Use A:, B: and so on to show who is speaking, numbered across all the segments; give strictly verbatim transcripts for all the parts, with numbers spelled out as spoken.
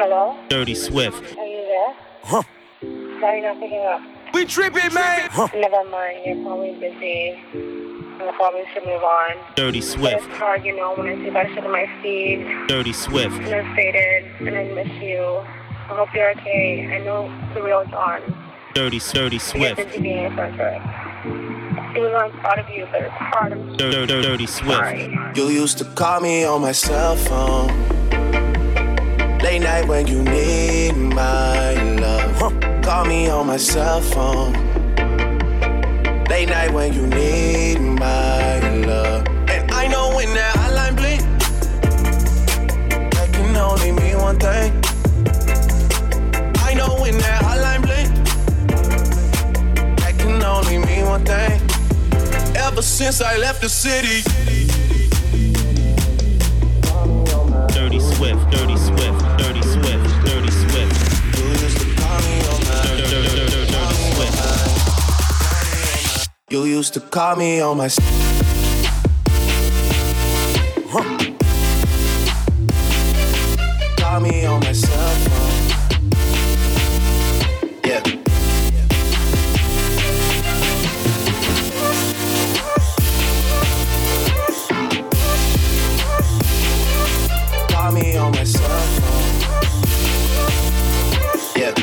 A: Hello?
B: Dirty Swift.
A: Are you there?
C: Huh.
A: Why are you not picking up?
C: We tripping, man. Huh.
A: Never mind, you're probably busy. I probably should move on.
B: Dirty
A: But
B: Swift.
A: it's hard, you know, when I see that shit on my feed.
B: Dirty Swift.
A: And I'm faded, and I miss you. I hope you're okay. I know the real's on.
B: Dirty, dirty
A: You're
B: Swift.
A: busy being a center. Even though I'm proud of you, but it's hard. I'm
B: Dirty, dirty, dirty Swift.
A: sorry.
D: You used to call me on my cell phone. Late night when you need my love. Huh. Call me on my cell phone. Late night when you need my love. And I know when that hotline blink, that can only mean one thing. I know when that hotline blink, that can only mean one thing. Ever since I left the city.
B: Dirty Swift, Dirty Swift, Dirty Swift, Dirty Swift.
D: You used to call me on my
B: Dirty, dirty, dirty, dirty Swift.
D: You used to call me on my huh. Call me on my cell phone. Yeah. Call me on my cell phone. Yeah.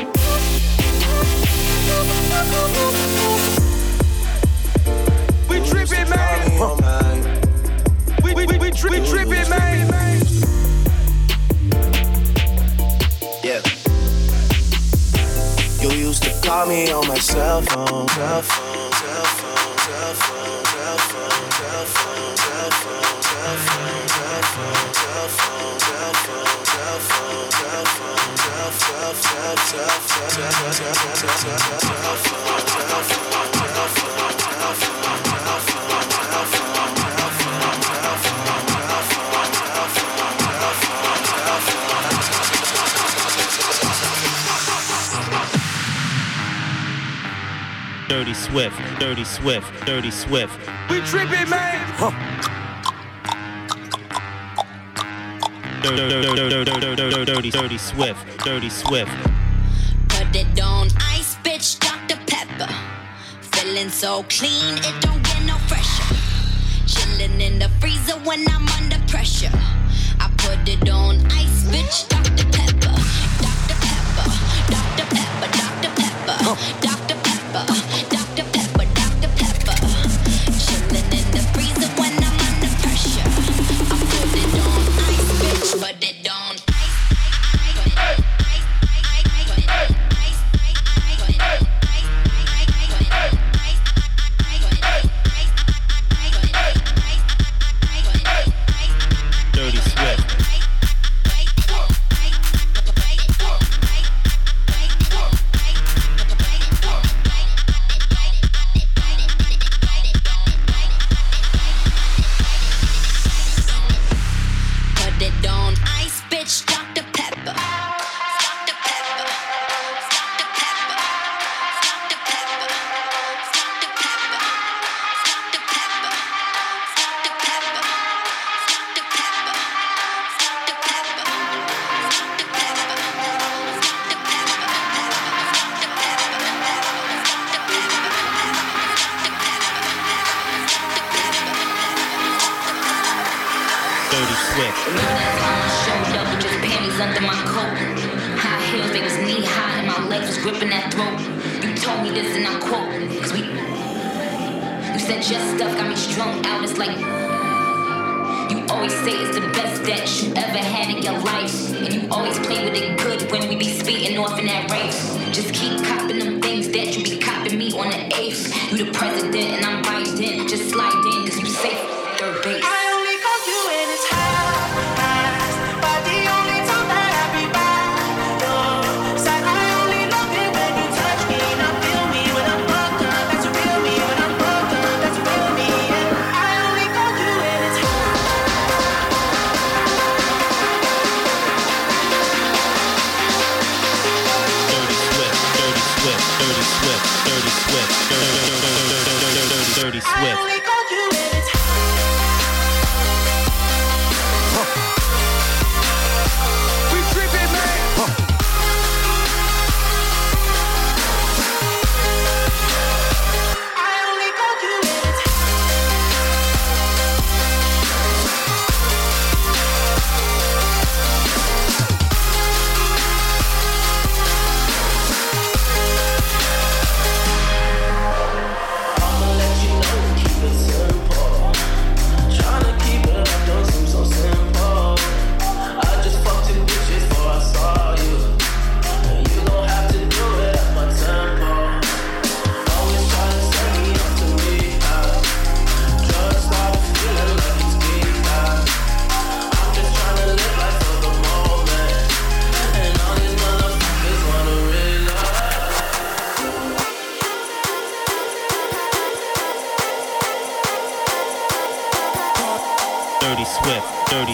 C: We tripping, man.
D: Call me on my
C: We we we we, tri- we tripping, man.
D: Yeah. You used to call me on my cell phone, cell phone, cell phone, cell phone, cell phone, cell phone, cell phone, cell phone, cell phone, cell phone, cell phone, cell phone, cell phone, cell phone, cell phone, cell
B: Dirty Swift, Dirty Swift, Dirty Swift.
C: We tripping, man.
D: Huh.
B: Dirty, dirty, dirty, dirty, dirty, dirty, dirty Swift, Dirty Swift.
E: Put it on ice, bitch, Doctor Pepper. Feeling so clean, it don't get no fresher. Chilling in the freezer when I'm under pressure. I put it on ice, bitch, Doctor Pepper. Doctor Pepper, Doctor Pepper, Doctor Pepper, Doctor Pepper, Doctor Pepper, Doctor Pepper. Chilling in the freezer when I'm under pressure. I put it on ice, bitch, put it on ice.
B: Dirty Swift.
E: Put it on ice, bitch, Doctor Pepper. Doctor Pepper. Doctor Pepper. Doctor Pepper. Doctor Pepper. Doctor Pepper. Doctor Pepper. Doctor Pepper. Doctor Pepper.
B: Dirty Swift.
F: Showed up with just panties under my coat. High heels, they was knee high, and my legs was gripping that throat. You told me this, and I quote, cause we. You said your stuff got me strung out. It's like you always say it's the best that you ever had in your life, and you always play with it good when we be speeding off in that race. Just keep copping them things that you be copping me on the eighth. You the president, and I'm Biden. Just slide in, cause you safe third base.
B: Dirty Swift, Dirty Swift, Dirty Swift, Dirty Swift.
C: We tripping, man.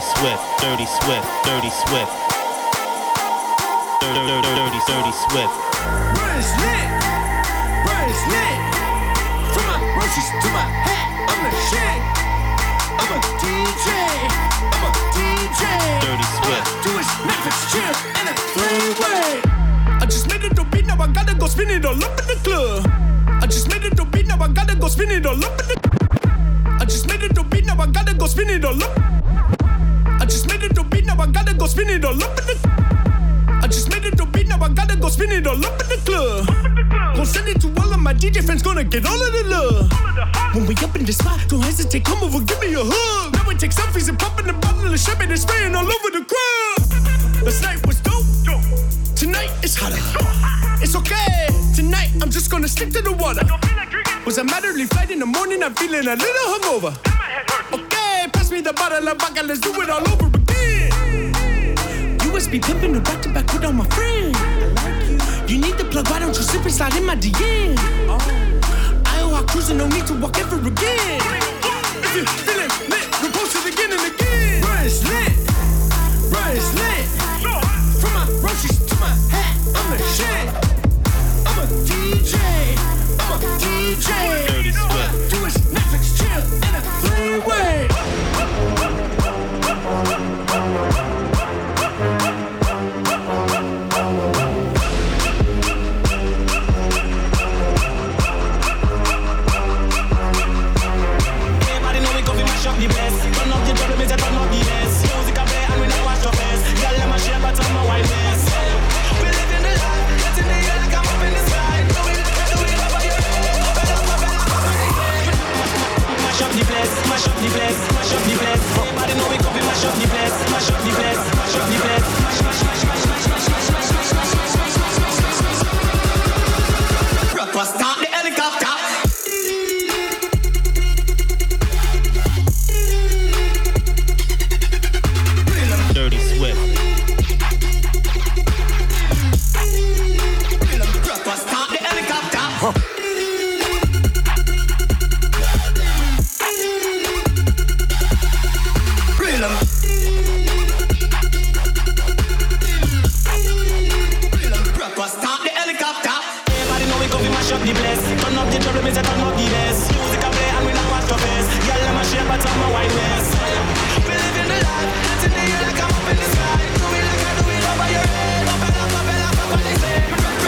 B: Swift, Dirty Swift, Dirty Swift. Dirty, dirty, dirty, dirty Swift.
C: Run is lit, run is lit. From my roaches to my hat, I'm the shit. I'm a D J, I'm a D J.
B: Dirty Swift.
C: Do is Netflix chill and a three-way. I just made it to beat, now I gotta go spin it all up in the club. I just made it to beat, now I gotta go spin it all up in the. I just made it to beat, now I gotta go spin it all up. I just made it to beat, now I gotta go spin it all up in the. I just made it to beat, now I gotta go spin it all up in the club. Gonna send it to all of my D J friends, gonna get all of the love. When we up in the spot, don't hesitate, come over, give me a hug. Now we take selfies and pop in the bottle of champagne and spraying all over the crowd. Last night was dope, tonight it's hotter. It's okay, tonight I'm just gonna stick to the water. Was a matterly flight in the morning, I'm feeling a little hungover. Okay, pass me the bottle of vodka, let's do it all over again. U S B pimping the back to back with all my friends. You need the plug, why don't you sip and slide in my D M? I O I cruising, no need to walk ever again. If you're feeling lit, we'll post it again and again. Run is lit, run is lit. From my roaches to my hat, I'm the shit. I'm a D J, I'm a D J.
B: Dirty Swift.
C: Do is Netflix chill and a three-way.
G: Everybody know we go fi mash up the place. Turn up the drum, me say turn up the bass. Music a play and we not wash your face. Girl, let my shape, but I'm a wine mess. We live in the life, get in the air like I'm up in the sky. Do it, do it over your head. Open up, open up, open up. Mash up the place, mash up the place, mash up the place. Everybody know we go fi mash up the place, mash up the place, mash up the place. Mash, mash, mash, mash, mash, mash, mash, mash, mash, mash, mash, mash, mash, mash, mash. Proper start the helicopter.
B: Dirty Swift.
G: Proper start the helicopter. Huh. Proper start the helicopter. Everybody know we go fi mash up the place. Turn up the trouble, me say turn up the bass. Music a play and we not wash your face. Girl, let my shape, but I'm a wine mess. We live in the life, get in the air like I'm up in the sky. Do it like I do it over your head. Open up, open up, open up, they say.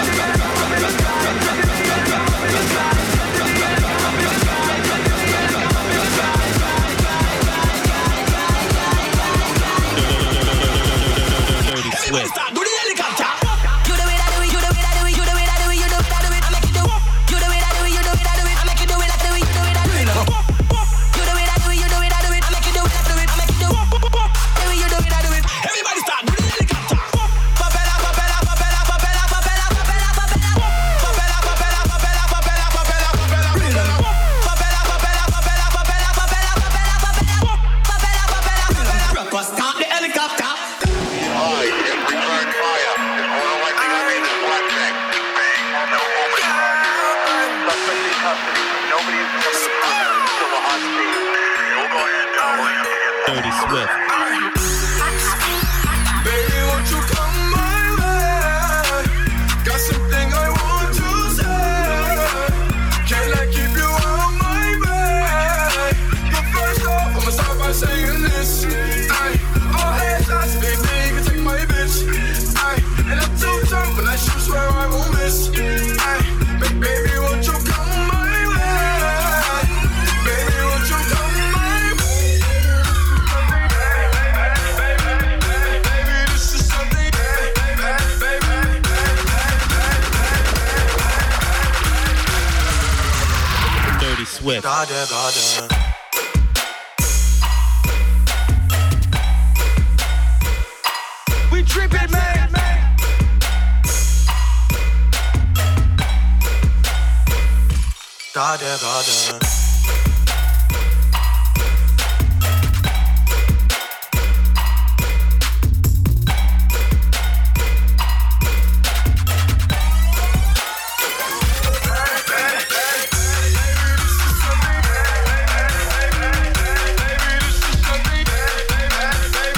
B: Dirty
G: Everybody
B: Swift.
G: start, do the helicopter.
E: You do it, I do it, you do it, I do it, you do it, I do it, you do it, I do it, I make you do. You do it, I do it, you do it, I do it, I make you do it, I do it, you do it, I do it. You do it, I do it, you do it, I do it, I make you do it, I do it, I make you do. Do it, you do it, I do it.
G: Everybody start, do the helicopter. Papela, papela, papela, papela, papela, papela, papela. Papela, papela, papela, papela, papela, papela, papela. Papela, papela, papela, papela, papela, papela, papela. Papela, papela, papela. Proper start the helicopter.
H: Alright, return fire. All I think I need is one thing. Bang on the woman. Suspect in custody. Nobody is coming to prison. Still a hot seat. We'll go ahead and we'll have to get
B: Dirty Swift.
C: Baby, won't you come my way? Got something I want to say. Can I keep you on my way? But first off, I'ma start by saying this. Aye, all hands I speak, you can take my bitch. Aye, and I'm too drunk, but I should swear I won't miss. Aye, ba- baby, won't you come my way? Baby, won't you come my way? Baby, this is something.
B: Dirty Swift.
D: Gotta, gotta.
C: We trippin', man.
D: Gotta, gotta.
C: Baby, this is something.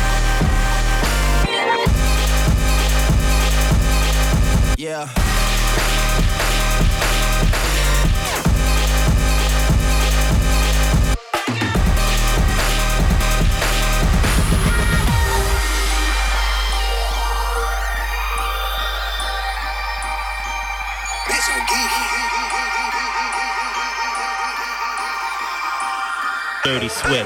B: Dirty Swift.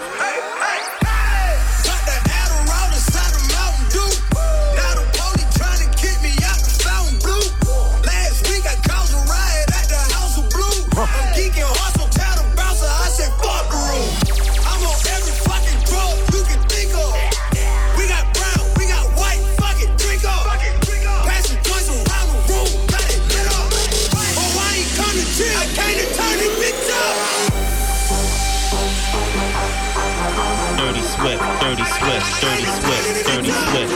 B: Dirty Swift, Dirty Swift, Dirty Swift.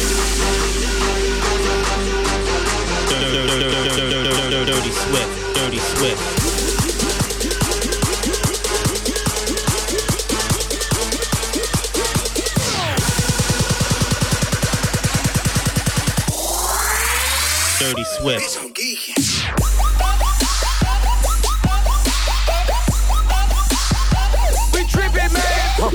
B: Dirty Swift, Dirty Swift. Dirty Swift.
I: We trippin', man.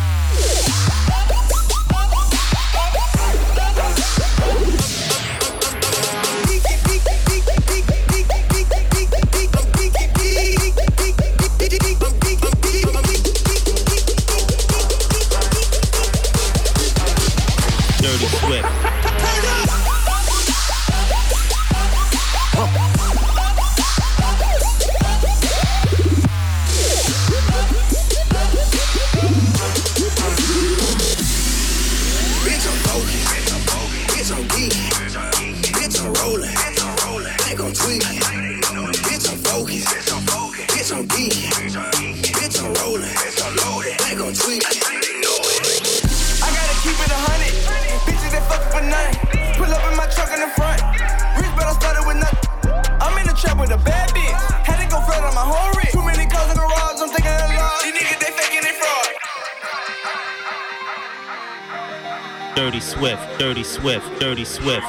B: Dirty Swift, Dirty Swift, Dirty Swift.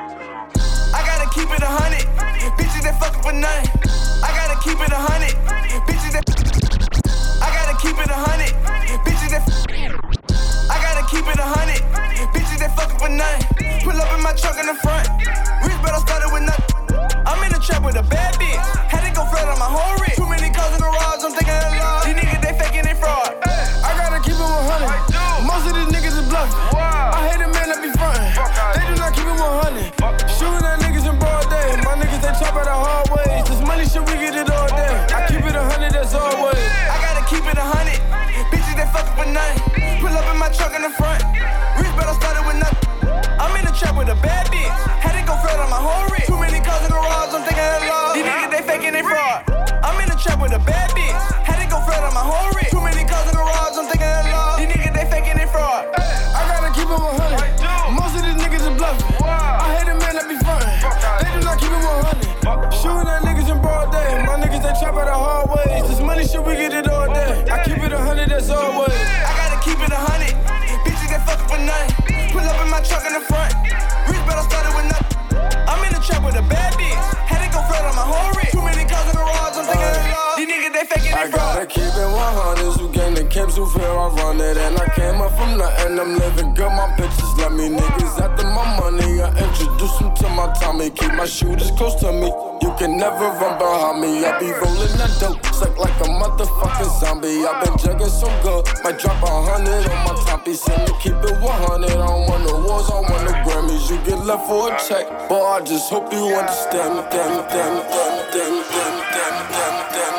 I: I gotta keep it a hundred. Bitches that fuckin' for nothing. I gotta keep it a hundred. Bitches that. I gotta keep it a hundred. Bitches that. I gotta keep it a hundred. Bitches that fuckin' for nothing. Pull up in my truck in the front. Rich, but I started with nothing. I'm in the trap with a bad bitch. Had to go flat on my whole wrist. Too many cars in the garage, I'm thinking a lot. These niggas, they faking, they fraud. I gotta keep it one hundred. Most of these niggas is bluffing. I hate a man that be frontin'. They do not keep it one hundred. Shooting at niggas in broad day. My niggas, they chop at the hard ways. This money shit, we get it all day. I keep it a hundred, that's always. I gotta keep it a hundred. Bitches, they fucking for nothing. Pull up in my truck in the front. Rich, but I started with nothing. I'm in the trap with a bad bitch. Had to go flat on my whole wrist. Too many cars in the garage, I'm thinking a lot. These niggas, they faking, they fraud. I'm in the trap with a bad bitch. Had to go flat on my whole wrist. Too many cars in the garage, I'm thinking a lot. These niggas, they faking, they fraud. I gotta keep it one hundred. Most of these niggas is bluffing. I hate a man that be frontin'. They do not keep it one hundred. Shooting at niggas in broad day. My niggas, they chop at the hard ways. This money shit, we get it all day. I keep it a hundred, that's always. I gotta keep it a hundred. Bitches, they fucking for nothing. Pull up in my truck in the front. Rich, but I started with nothing. I'm in the trap with a bad bitch. Had to go flat on my whole wrist. Too many cars in the garage, I'm thinking a lot. These niggas, they faking, they fraud.
J: I gotta keep it one hundred. Who gain the camps, who fear I run it. And I came up from nothing, I'm living good. My bitches love me, niggas after my money. I introduce them to my Tommy. Keep my shooters close to me. You can never run behind me. I be rolling that dope, suck like a motherfucking zombie. I been jugging so good, might drop a hundred on my top piece. And to keep it one hundred, I don't want no wars, I want no Grammys. You get left for a check, but I just hope you understand. Damn, damn, damn, damn, damn, damn, damn, damn.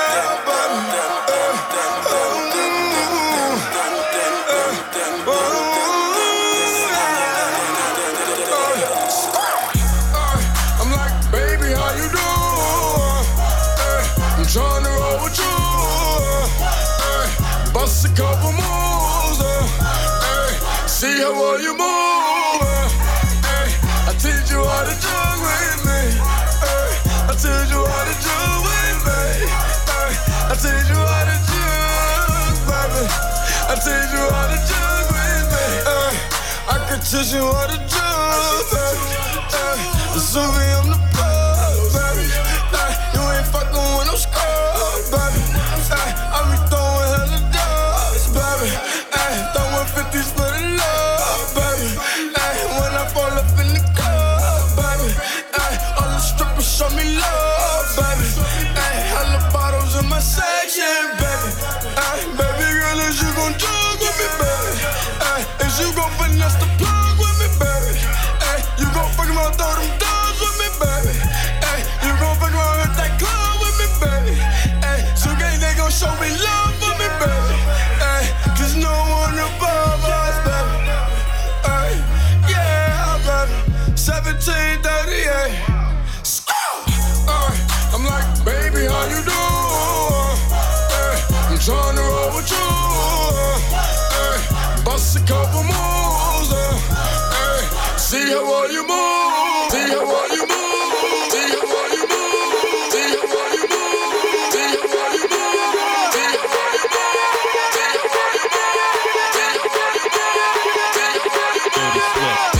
K: Trying to roll with you, uh, bust a couple moves, uh, uh, see how well you move. Uh, uh, I teach you how to jug with me. Uh, I teach you how to jug with me. Uh, I teach you how to jug, baby. I teach you how to jug with me. Uh, I can teach you how to jug, baby. Uh, so we on the bus, baby. Uh, you ain't fucking with no scrubs, baby. Ay, I be throwing hella dubs, baby. Ay, throwing fifties for the love, baby. Ay, when I fall up in the club, baby. Ay, all the strippers show me love, baby. Ay, hella bottles in my section, baby. Ay, baby girl.
J: roll with you. Ay, bust a couple moves. Ay, see how well you move. See how well you move. See how well you move. See how well you move. See how well you move. See how well you move. See how well you move. See how well you move. See how well you move. Dirty Swift.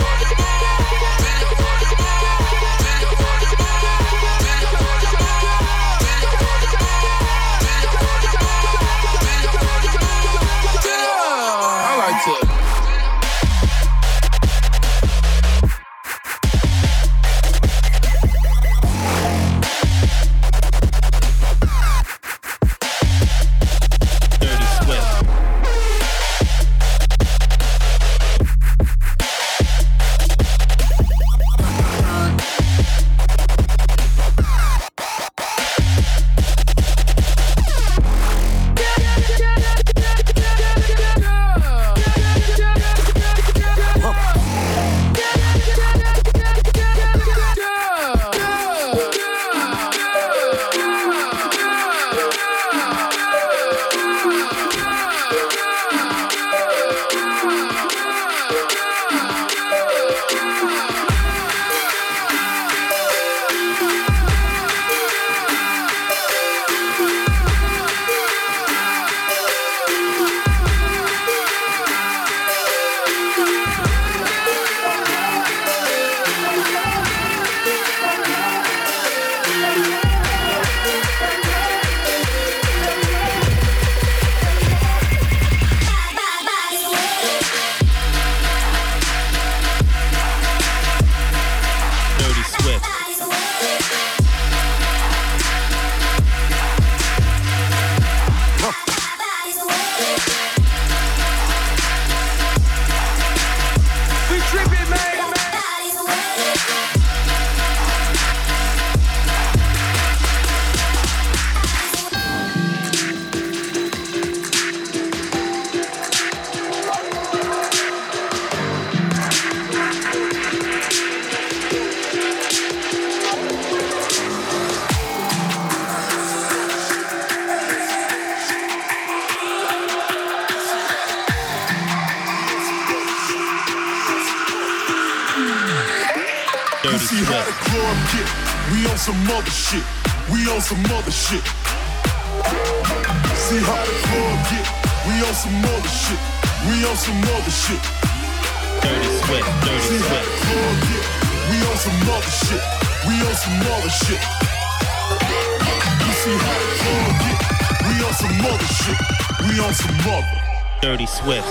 K: See how the club get, we on some other shit, we on some other shit. See how the club get, we on some other shit, we on some other shit.
B: Dirty Swift, Dirty
K: See
B: Swift.
K: how the club get, we on some other shit, we on some other shit. You see how the club get, we on some other shit, we on some other.
B: Dirty Swift.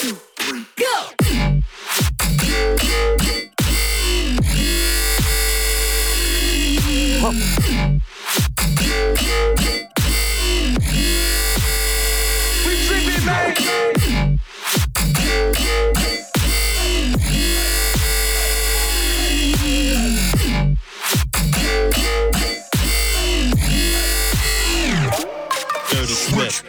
B: Dirty Swift.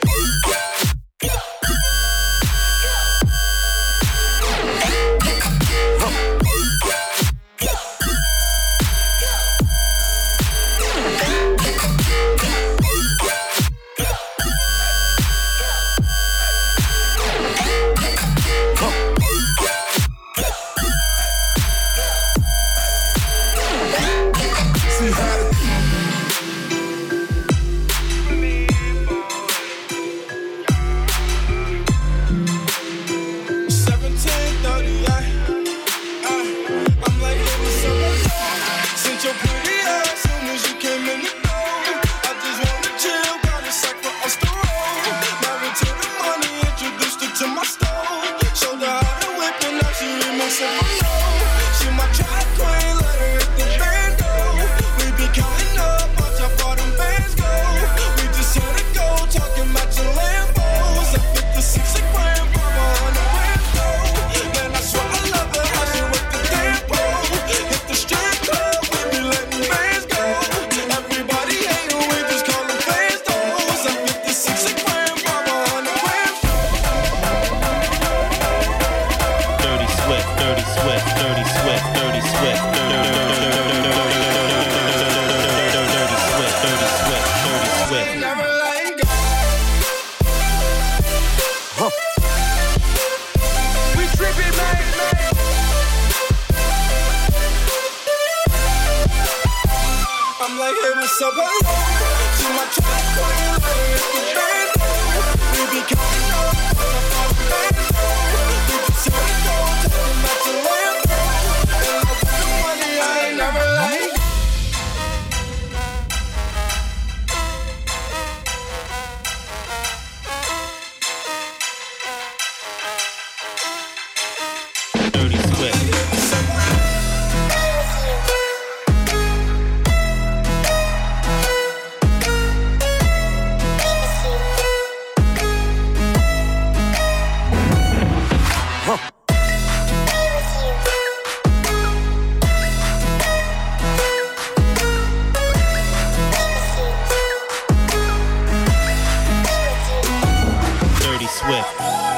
B: Swift.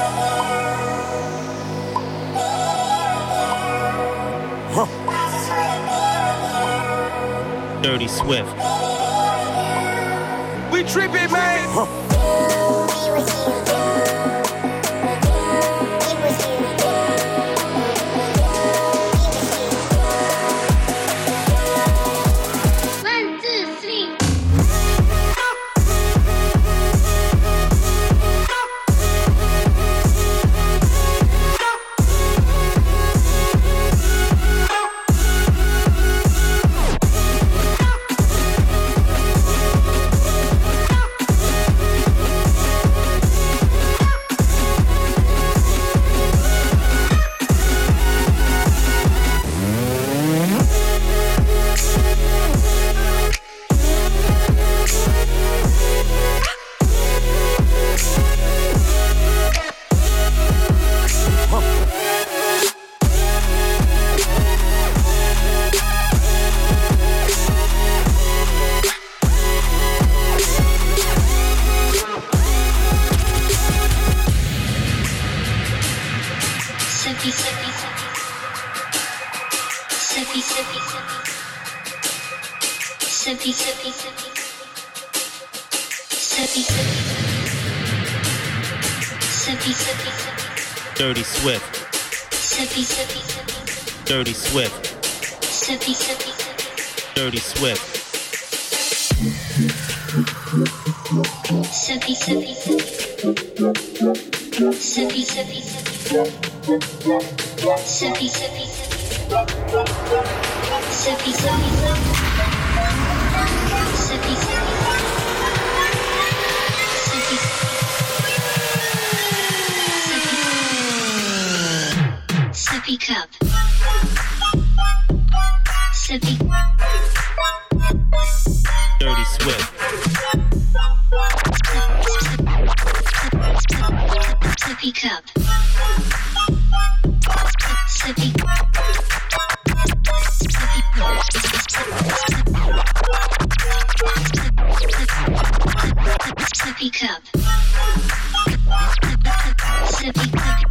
J: Huh.
B: Dirty Swift.
I: We trippin', man.
J: Huh.
B: Dirty Swift.
E: Sippy, sippy, sippy.
B: Dirty Swift.
E: Sippy, sippy, sippy.
B: Dirty Swift.
E: Sippy, sippy, sippy. Sippy, sippy, sippy. Sippy, sippy, sippy. Sippy, sippy, sippy. Sippy, sippy. Sippy cup. Sippy.
B: Dirty Swift.
E: Sippy cup. Sippy. Sippy cup. Sippy.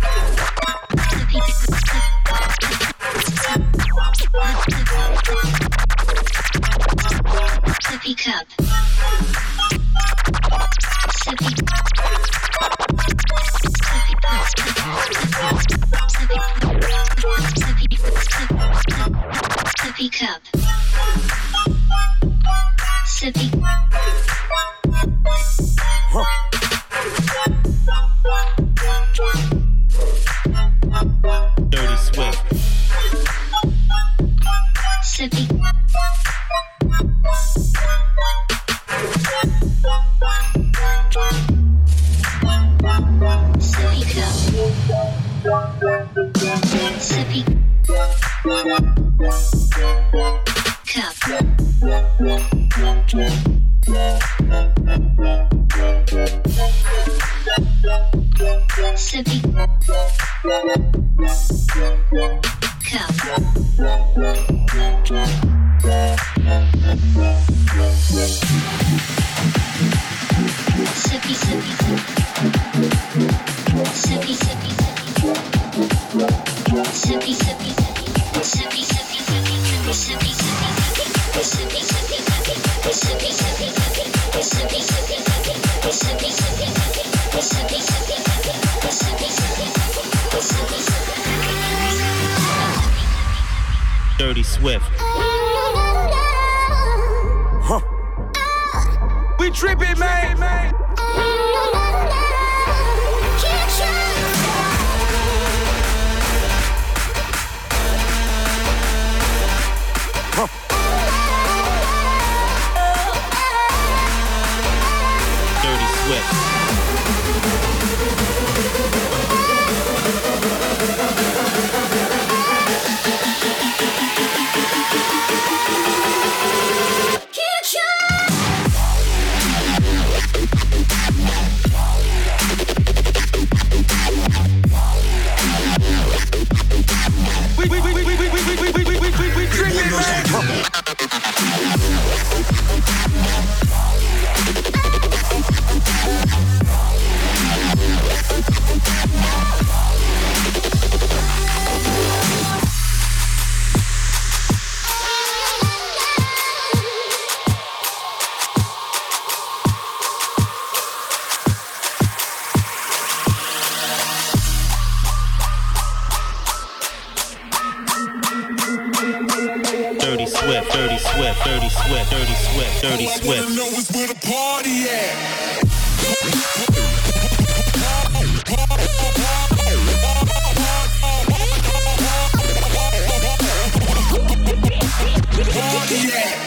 E: Sippy cup. Sippy. Sippy cup. Sippy.
J: Huh.
B: Dirty Swift.
E: Sippy. Sippy cup. Sippy. Cup. Sippy. Cup. Sippy, sippy, sippy. Sippy, sippy, sippy. Sippy, sippy, sippy. Sippy, sippy, sippy. Sippy, sippy, sippy. Sippy, sippy, sippy. Sippy, sippy, sippy. Sippy, sippy, sippy. Sippy, sippy, sippy. Sippy, sippy, sippy. Sippy, sippy, sippy.
B: Dirty Swift.
J: Huh.
I: We trippin', man.
J: Huh.
B: Dirty Swift. Dirty Swift, Dirty Swift, Dirty Swift, Dirty Swift.
C: All I wanna know is where the party at. Party at.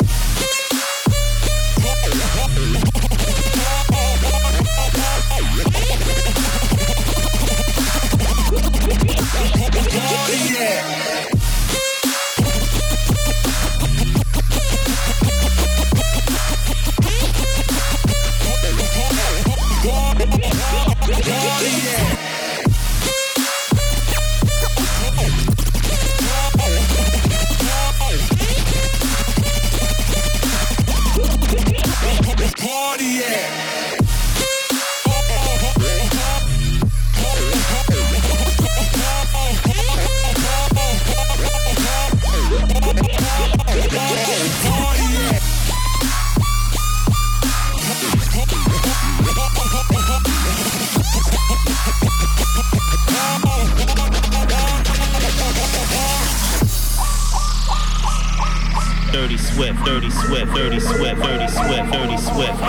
B: Dirty Swift, Dirty Swift, Dirty Swift, Dirty Swift, Dirty Swift.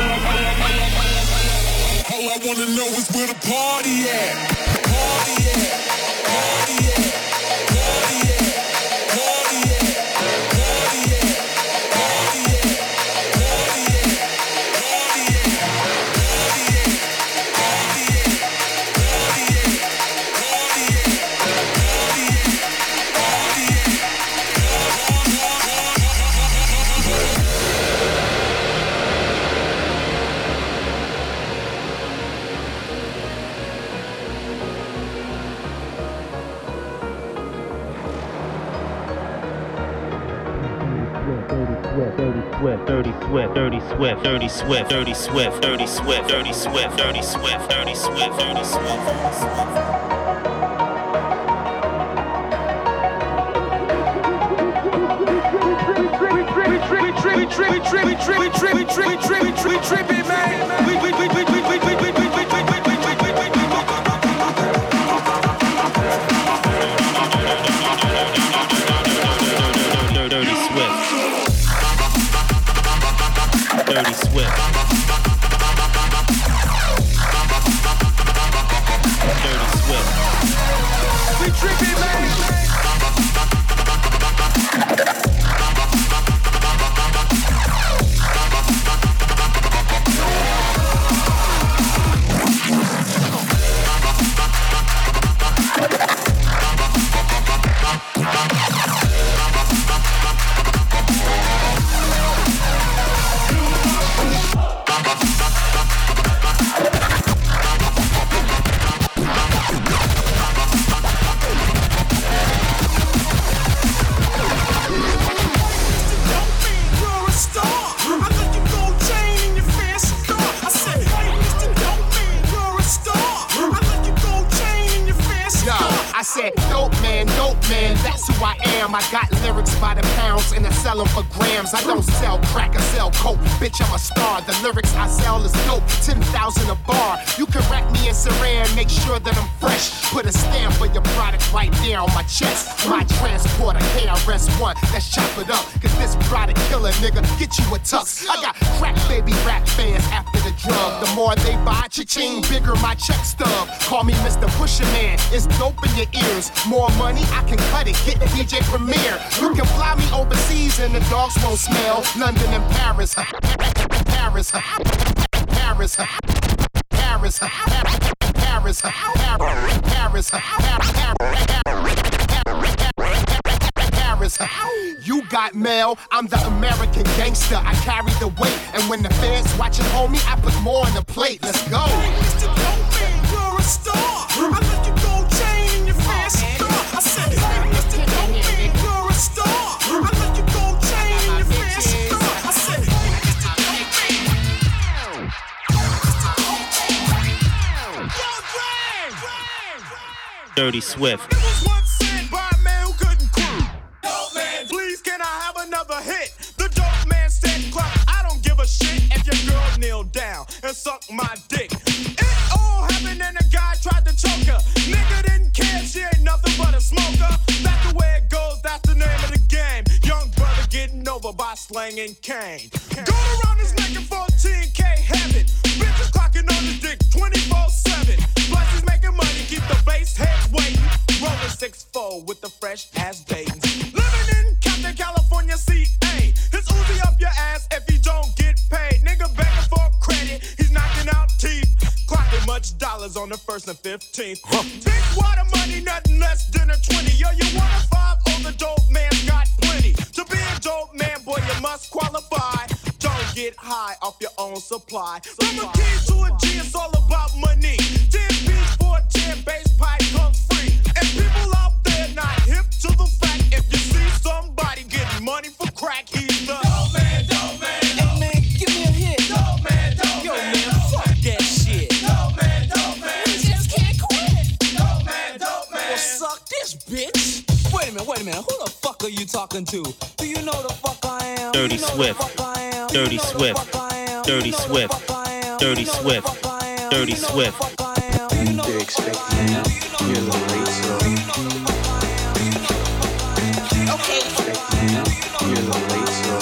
C: All I wanna know is where the party at. Party at. Party at. Party at. Party at. Party at. Party at. Party at. Party at. Party at. Party at. Party at.
B: Dirty Swift, Dirty Swift, Dirty Swift, Dirty Swift, Dirty Swift, Dirty Swift, Dirty Swift, Dirty Swift, Dirty Swift, Dirty Swift. Dirty Swift. Dirty Swift. We tripping, man.
L: I got lyrics by the pounds and I sell them for grams. I don't sell crack, I sell coke. Bitch, I'm a star. The lyrics I sell is dope. ten thousand a bar. You can rack me in Saran, make sure that I'm fresh. Put a stamp for your product right there on my chest. My transporter, K R S One. Let's chop it up. Cause this product killer, nigga, get you a tux. I got crack baby rap fans after the drug. The more they buy, cha-ching, bigger my check stub. Call me Mister Pusher Man. It's dope in your ears. More money, I can cut it. Get the D J Premier. You can fly me overseas and the dogs won't smell. London and Paris. Paris. Paris. Paris. Paris. Paris. Paris. You got mail, I'm the American gangster. I carry the weight, and when the fans watching homie, I put more on the plate. Let's go. Hey, Mister Dopey, you're a star. I let you go chain in your fancy car. I said, hey, Mister Dopey, you're a star. I let you go chain in your fancy car. I said, hey, Mister Dopey.
B: Dirty Swift.
C: It was once said by a man who couldn't quit. Dope man, please can I have another hit? The dope man said, "Club, I don't give a shit if your girl kneel down and suck my dick." It all happened and a guy tried to choke her. Nigga didn't care, she ain't nothing but a smoker. That's the way it goes, that's the name of the game. Young brother get slanging cane. Going around his neck in fourteen K heaven. Bitches clocking on his dick twenty-four seven. Plus he's making money, keep the bass heads waiting. Rolling six four with the fresh ass Dayton. Living in Compton, California, C A. His Uzi up your ass if you don't get paid. Nigga begging for credit, he's knocking out teeth. Clocking much dollars on the first and fifteenth. Huh. Big water money, nothing less than a twenty. Yo, you want a five? Oh, the dope man's got plenty. To be a dope man, boy, you must qualify. Don't get high off your own supply. From a key to a G, it's all about money. ten beats for a ten, bass pipe come free. And people out there not hip to the fact, if you see somebody getting money for crack, he's the dope man, dope man. Hey man, give me a hit. Dope man, dope Yo, man. Yo man, fuck that shit. Dope man, dope man. We just can't quit. Dope man, dope man. Well, suck this, bitch. Wait a minute, wait a minute. Who the fuck are you talking to? Do you know the fuck I am?
B: Dirty
C: you know
B: Swift. Dirty Swift. Dirty Swift. Dirty Swift. Dirty Swift.
M: They expect you. You're a little late, so.
C: Okay.
M: You're a little late, so.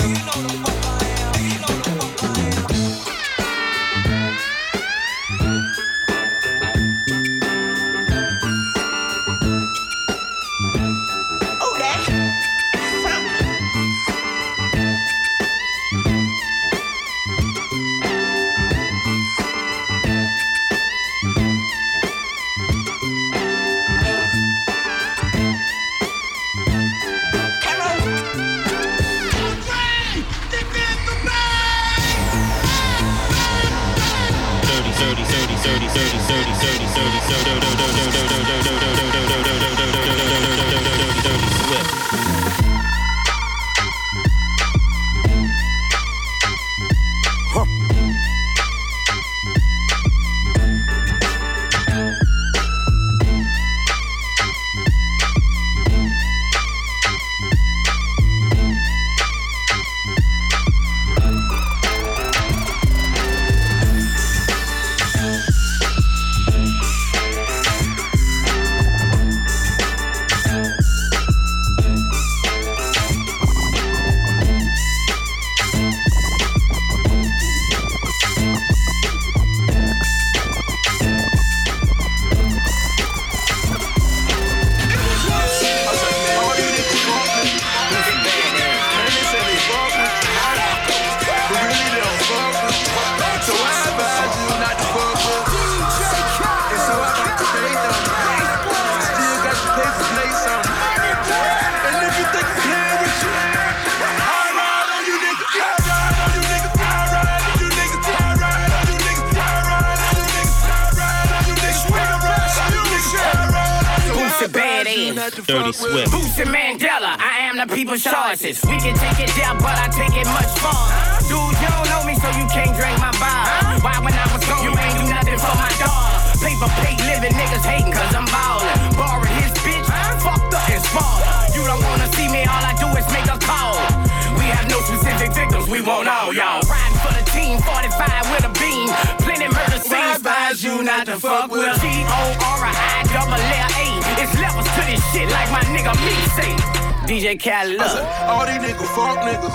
B: Dirty Swift.
N: Boosie Mandela, I am the people's choices. We can take it down, but I take it much farther. Dude, you don't know me, so you can't drink my bar. Why when I was gone, you ain't do nothing for my dog. Paper plate living niggas hating cause I'm ballin'. Borrowed his bitch, fucked up and spoiled. You don't wanna see me, all I do is make a call. We have no specific victims, we want all y'all. Riding for the team, forty-five with a beam. Plenty murder scenes, advise you not to fuck with G O R I double L A. It's levels to this shit like my nigga me say. D J Khaled.
J: All these niggas fuck niggas.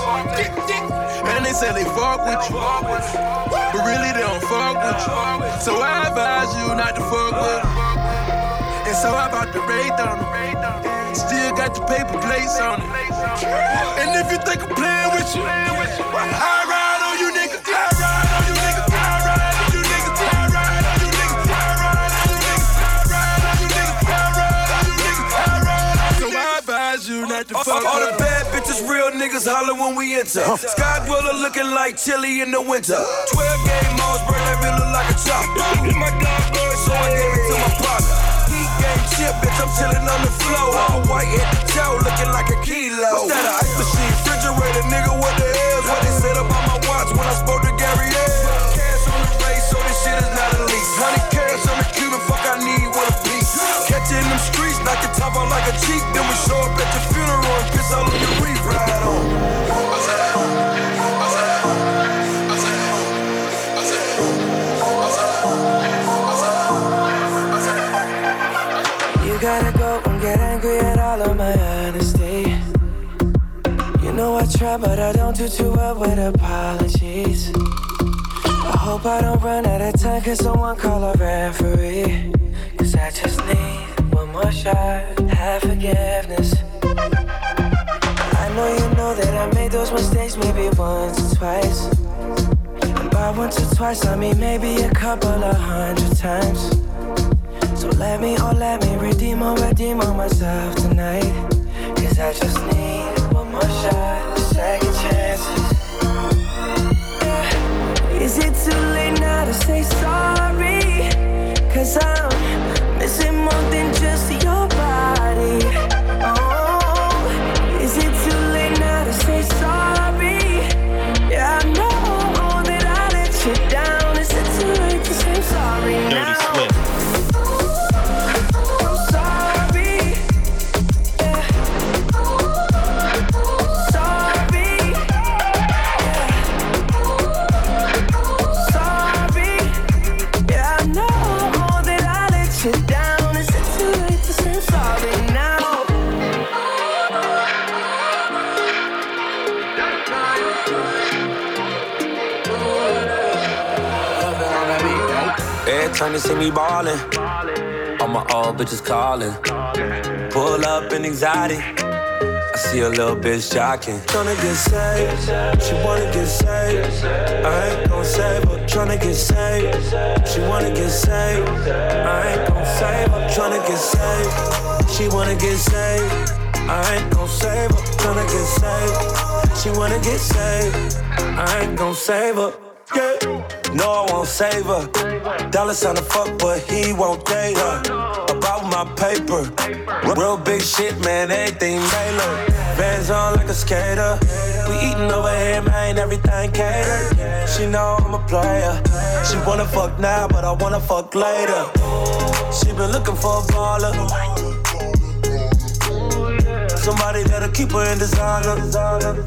J: And they say they fuck with you. But really they don't fuck with you. So I advise you not to fuck with them. And so I bought the raid on them. Still got the paper plates on it. And if you think I'm playing with you, I ride on you niggas. I ride on you niggas. I ride on you niggas. I ride on you niggas. I ride on you niggas. I ride on you niggas. I ride on you niggas. I ride on you niggas. So I advise you not to fuck with
O: all the bad bitches, real niggas holler when we enter. Sky Dweller looking like chili in the winter. twelve game modes, bro, that bitch look like a chopper. My dog good, so I gave it to my partner. Heat game chip, bitch, I'm chillin' on the floor. I'm a white head to toe, looking like a kilo. What's that, an ice machine, refrigerator, nigga, what the hell's what they said about my watch when I spoke to Gary L. Cash on the race, so this shit is not a lease. Honey cash on the Cuban, fuck I need with a piece. Catch it in them streets, knock your top out like a cheek. Then we show up at your funeral and piss all on your reef, ride on.
P: You gotta go and get angry at all of my honesty. You know I try
D: well, but I don't do too well with apologies. I hope I don't run out of time, cause someone call a referee. Cause I just need one more shot, have forgiveness. I know you know that I made those mistakes maybe once or twice. And by once or twice I mean maybe a couple of hundred times. So let me, oh let me redeem or redeem on myself tonight. Cause I just need one more shot, second chances. Yeah. Is it too late now to say sorry? Cause I'm missing more than just your body. Oh, is it too late now to say sorry? Yeah, I know that I let you down. Is it too late to say sorry now?
B: Dirty Swift.
P: Time to see me ballin', all my old bitches callin'. Pull up in anxiety, I see a little bitch jockin'.
D: Tryna get saved, she wanna get saved. I ain't gon' save her, tryna get saved. She wanna get saved, I ain't gon' save her. Tryna get saved, she wanna get saved. I ain't gon' save her, tryna get saved. She wanna get saved, I ain't gon' save her. Yeah.
P: No, I won't save her. Dollar sign to fuck, but he won't date her. About my paper, real big shit, man, everything tailored. Bands on like a skater. We eatin' over here, man, everything catered. She know I'm a player. She wanna fuck now, but I wanna fuck later. She been looking for a baller. Somebody that'll keep her in designer.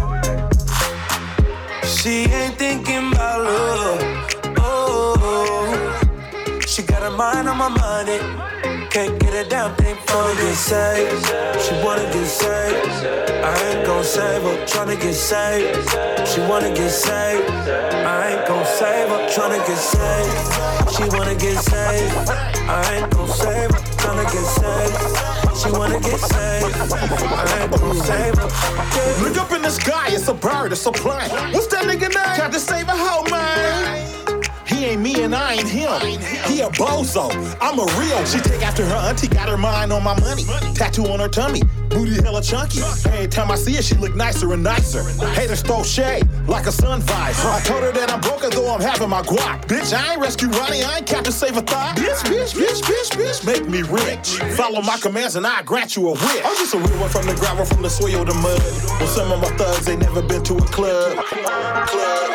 P: She ain't thinking about love, oh. She got her mind on my money, can't get a damn thing from me. Get saved, she wanna get saved. I ain't gon' save her, tryna get saved. She wanna get saved, I ain't gon' save her, tryna get saved. She wanna get saved, I ain't gon' save her, tryna get saved. She wanna get saved, I ain't gon' save her. Yeah.
L: Look up in the sky, it's a bird, it's a plane. What's that nigga name? Tried to save a hoe, man. He ain't me and I ain't him. He a bozo, I'm a real. She take after her auntie, got her mind on my money. Tattoo on her tummy, booty hella chunky. Every time I see her, she look nicer and nicer. Haters throw shade like a sun visor. I told her that I'm broke though I'm having my guac. Bitch, I ain't rescue Ronnie, I ain't Captain Save a Thought. Bitch, bitch, bitch, bitch, bitch, make me rich. Follow my commands and I grant you a wish. I'm just a real one from the gravel, from the soil to mud. Well, some of my thugs ain't never been to a club. Club, club.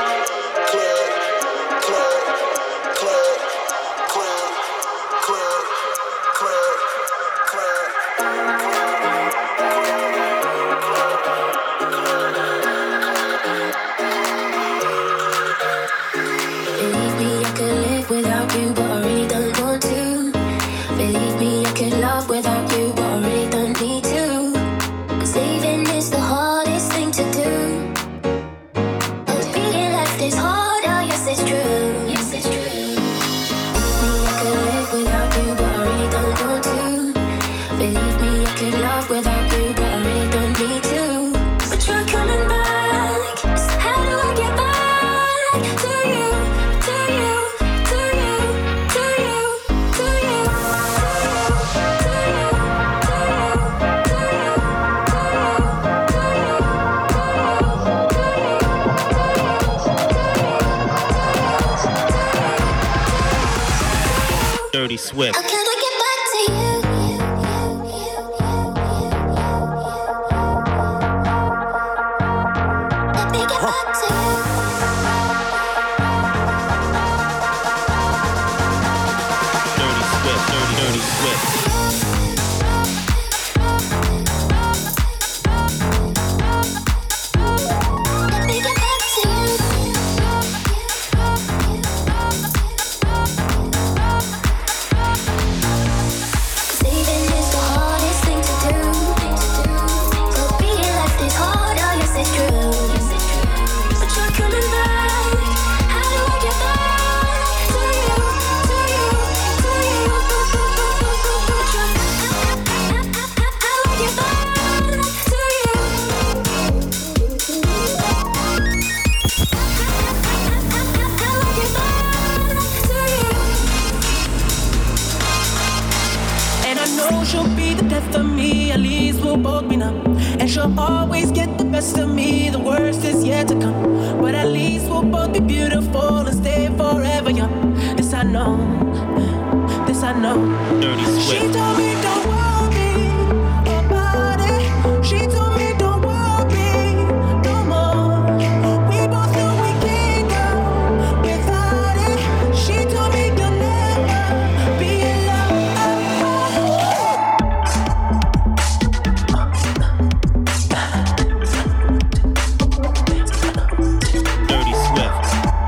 B: Dirty Swift.
Q: It's true. know she'll be the death of me, at least we'll both be numb. And she'll always get the best of me, the worst is yet to come. But at least we'll both be beautiful and stay forever young. This I know, this I know.
B: Dirty Swift.
Q: She told me don't worry about it. She told me don't worry no more. We both know we can't go without it. She told me you'll never be
B: Dirty Swift.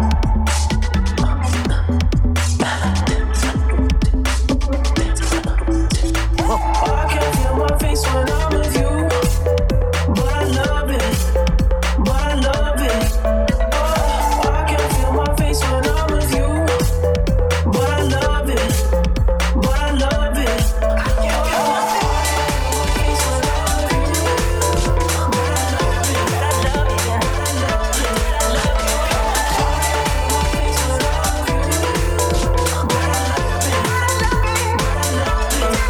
Q: I can feel my face when I'm with you, but I love it, but I love it. Oh, I can feel my face when I'm with you, but I love it, but I love it. I can feel my face when I'm with you, but I love it, but I love it, but I love it, but I love it. My face when I'm with you, but I love it, but I love it, but I love it.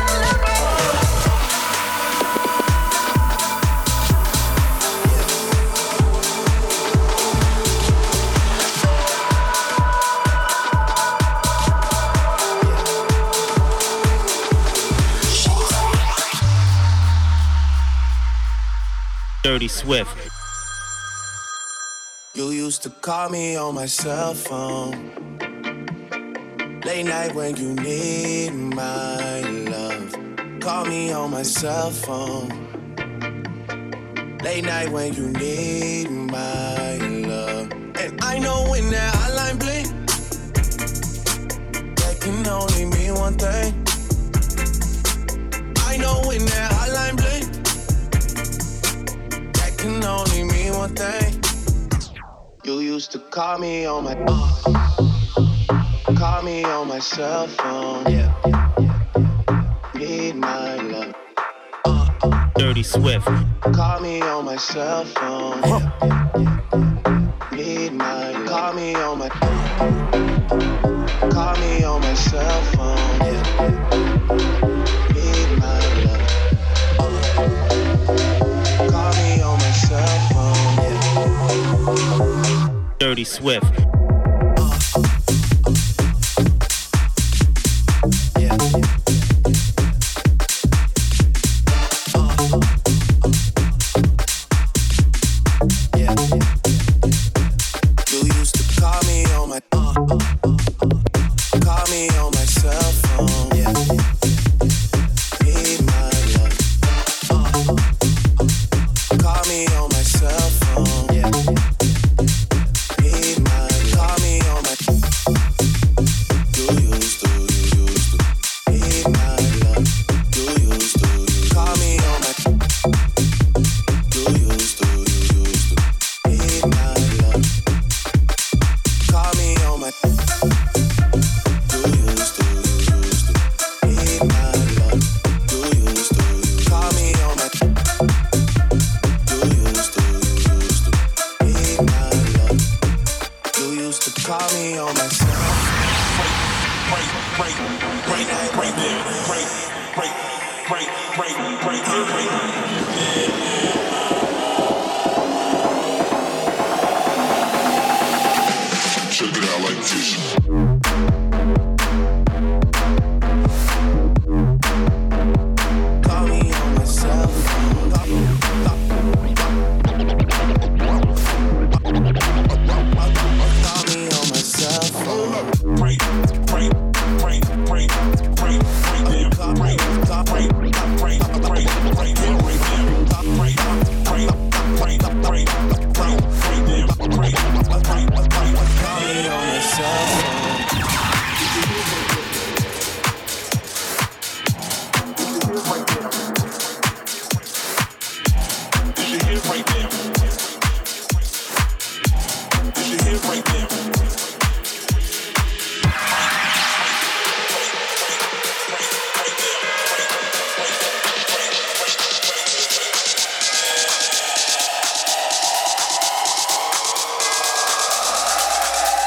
B: Dirty Swift.
D: You used to call me on my cell phone. Late night when you need my love. Call me on my cell phone. Late night when you need my love. And I know when that hotline blink, that can only mean one thing. I know when that hotline blink, that can only mean one thing. You used to call me on my uh, call me on my cell phone. Yeah, need my love. Uh,
B: Dirty Swift.
D: Call me on my cell phone. Yeah, need my love. Call me on my call me on my cell phone. Yeah, need my love. Uh, call me on my cell phone. Yeah.
B: Dirty Swift.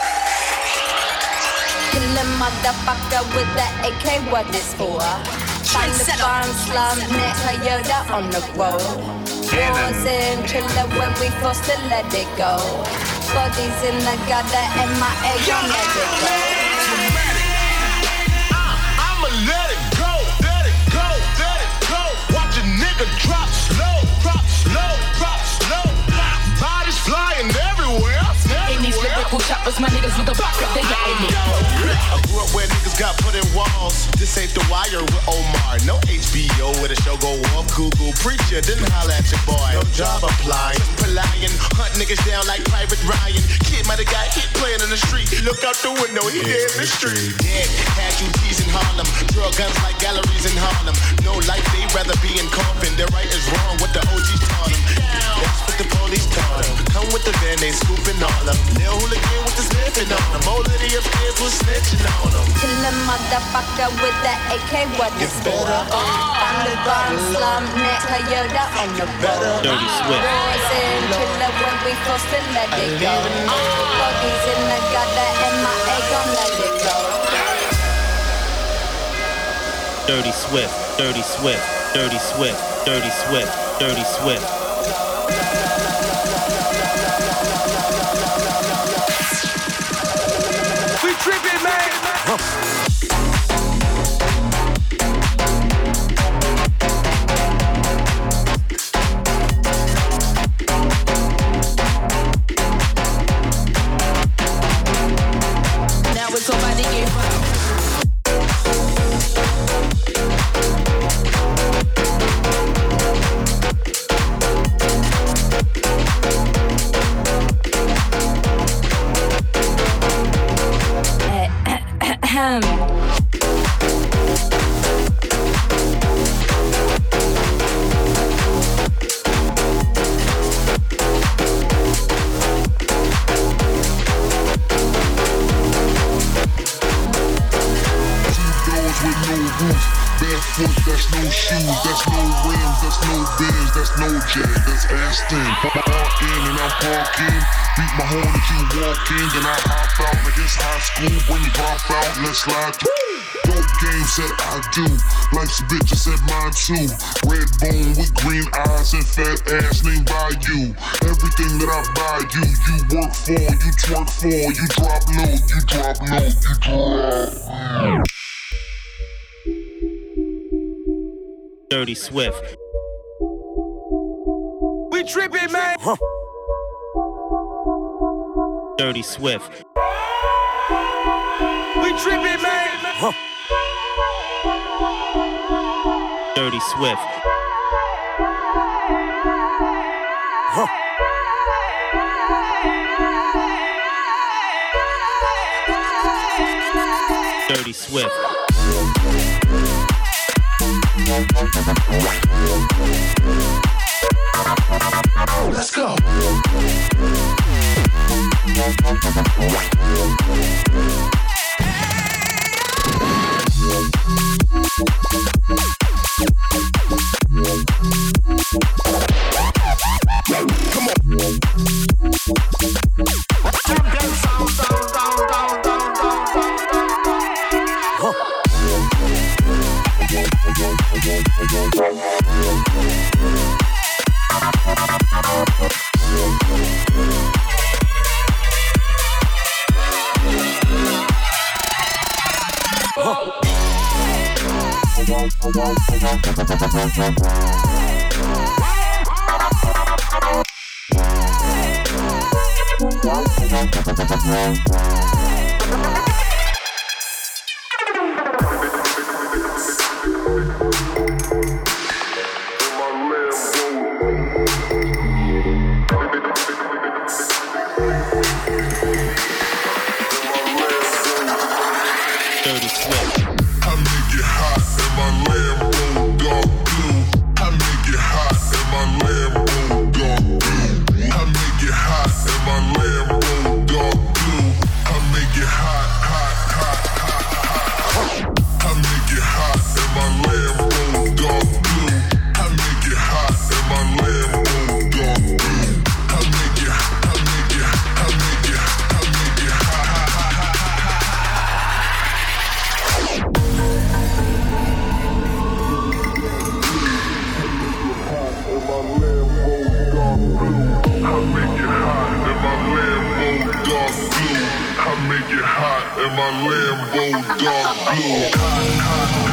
E: Motherfucker with the A K, what this for? Taliban, slum, Toyota on the road. Wars in chiller when we forced to let it go. Bodies in the gutter, M I A, don't let it go.
R: I'ma let it go, let it go, let it go. Watch a nigga drop slow, drop slow, drop slow. Bodies flying everywhere.
F: In these lyrical choppers, my niggas with the pocket, they got in it.
R: I grew up where niggas got put in walls. This ain't The Wire with Omar. No H B O where the show go off. Google preacher, didn't holla at your boy. No job applying. Palayan, hunt niggas down like Private Ryan. Kid might have got hit playing in the street. Look out the window, he dead in the street. Dead casualties in Harlem. Draw guns like galleries in Harlem. No life, they rather be in coffin. Their right is wrong, what the O Gs taught them. That's what the police taught them. Come with the van, they scooping all them. Lil hooligan with the sniffing on them. Old lady upstairs was snitching on them.
E: Kill a motherfucker with the A K, what is better? Taliban, slum, Toyota on the road.
B: Dirty Swift.
E: Wars in chiller when we forced to let it go. Bodies in the gutter, M I A, gon' let it go.
B: Dirty Swift, Dirty Swift, Dirty Swift, Dirty Swift, Dirty Swift.
C: We trippin', man.
F: Now it's over to you.
K: Barefoot, that's no shoes, that's no rims, that's no Benz, that's no Jag, that's Aston. Park in and I'm parking, beat my horn as you walk in, then I hop out like it's high school. When you drop out, let's slide through. Dope game said I do, life's a bitch, I said mine too. Red bone with green eyes and fat ass named by you. Everything that I buy you, you work for, you twerk for, you drop low, you drop low, you drop.
B: Dirty Swift.
C: We trippin', man. Huh.
B: Dirty Swift.
C: We trippin', man. Huh.
B: Dirty Swift.
C: Huh.
B: Dirty Swift.
C: Let's go. Come on. Huh.
B: Dirty Swift.
K: I make it hot in my Lambo dark blue. I make it hot in my Lambo dark blue. I make it hot in my Lambo dark blue. I make it hot. my Lambo dark blue.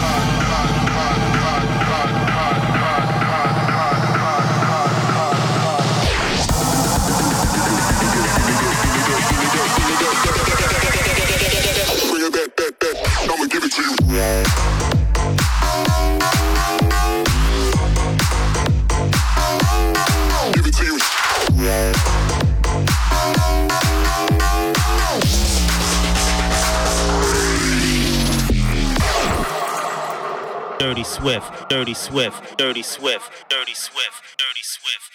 K: I'ma give it to you. Give it to you.
B: Dirty Swift, Dirty Swift, Dirty Swift, Dirty Swift, Dirty Swift.